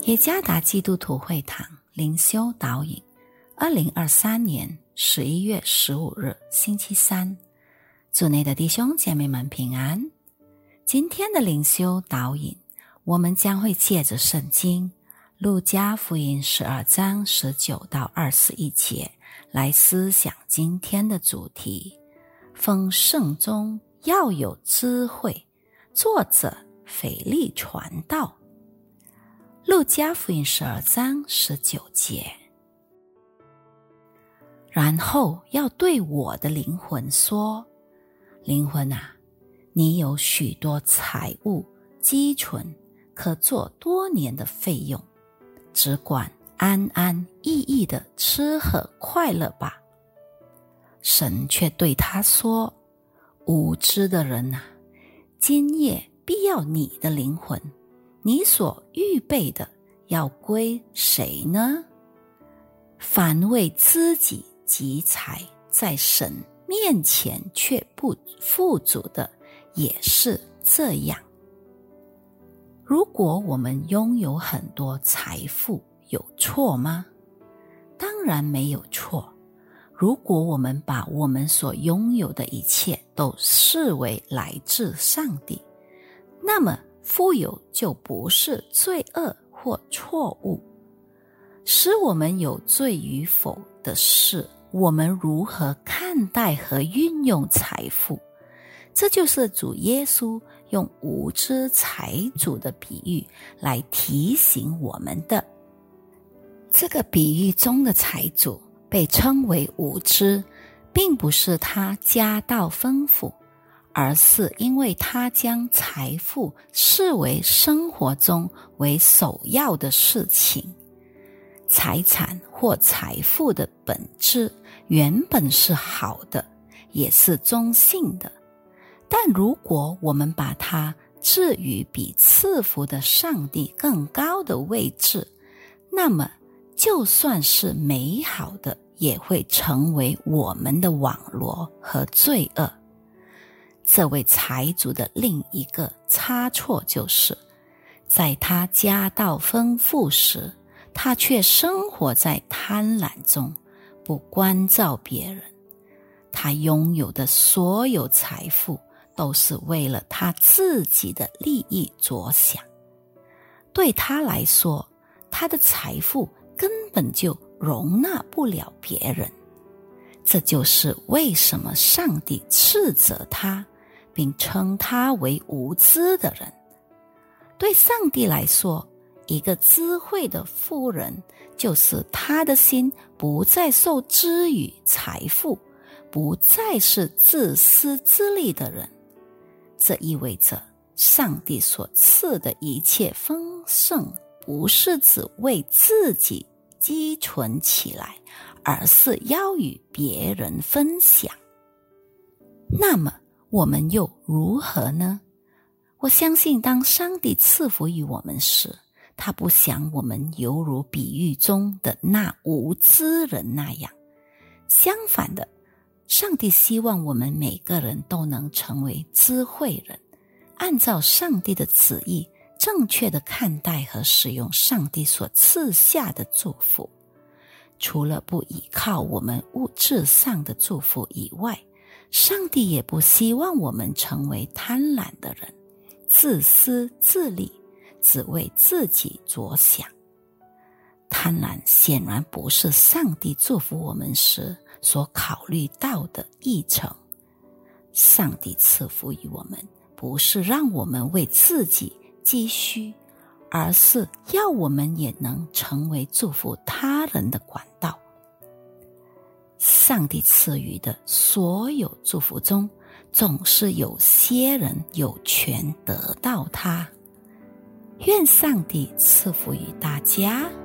耶加达基督徒会堂灵修导引2023年11月15日星期三，主内的弟兄姐妹们平安。今天的灵修导引，我们将会借着圣经路加福音12章19到21节来思想今天的主题，丰盛中要有智慧。作者腓力传道。路加福音12章19节，然后要对我的灵魂说，灵魂啊，你有许多财物积存，可做多年的费用，只管安安逸逸地吃喝快乐吧。神却对他说，无知的人啊，今夜必要你的灵魂，你所预备的要归谁呢？凡为自己积财，在神面前却不富足的，也是这样。如果我们拥有很多财富，有错吗？当然没有错。如果我们把我们所拥有的一切都视为来自上帝，那么富有就不是罪恶或错误。使我们有罪与否的是，我们如何看待和运用财富。这就是主耶稣用无知财主的比喻来提醒我们的。这个比喻中的财主被称为无知，并不是他家道丰富，而是因为他将财富视为生活中为首要的事情。财产或财富的本质原本是好的，也是中性的，但如果我们把它置于比赐福的上帝更高的位置，那么就算是美好的，也会成为我们的网罗和罪恶。这位财主的另一个差错就是，在他家道丰富时，他却生活在贪婪中，不关照别人。他拥有的所有财富都是为了他自己的利益着想。对他来说，他的财富根本就容纳不了别人。这就是为什么上帝斥责他，并称他为无知的人。对上帝来说，一个智慧的妇人，就是他的心不再受制于财富，不再是自私自利的人。这意味着上帝所赐的一切丰盛，不是只为自己积存起来，而是要与别人分享。那么我们又如何呢？我相信当上帝赐福于我们时，他不想我们犹如比喻中的那无知人那样。相反的，上帝希望我们每个人都能成为智慧人，按照上帝的旨意，正确的看待和使用上帝所赐下的祝福。除了不依靠我们物质上的祝福以外，上帝也不希望我们成为贪婪的人，自私自利，只为自己着想。贪婪显然不是上帝祝福我们时所考虑到的议程。上帝赐福于我们，不是让我们为自己积蓄，而是要我们也能成为祝福他人的管道。上帝赐予的所有祝福中，总是有些人有权得到它。愿上帝赐福于大家。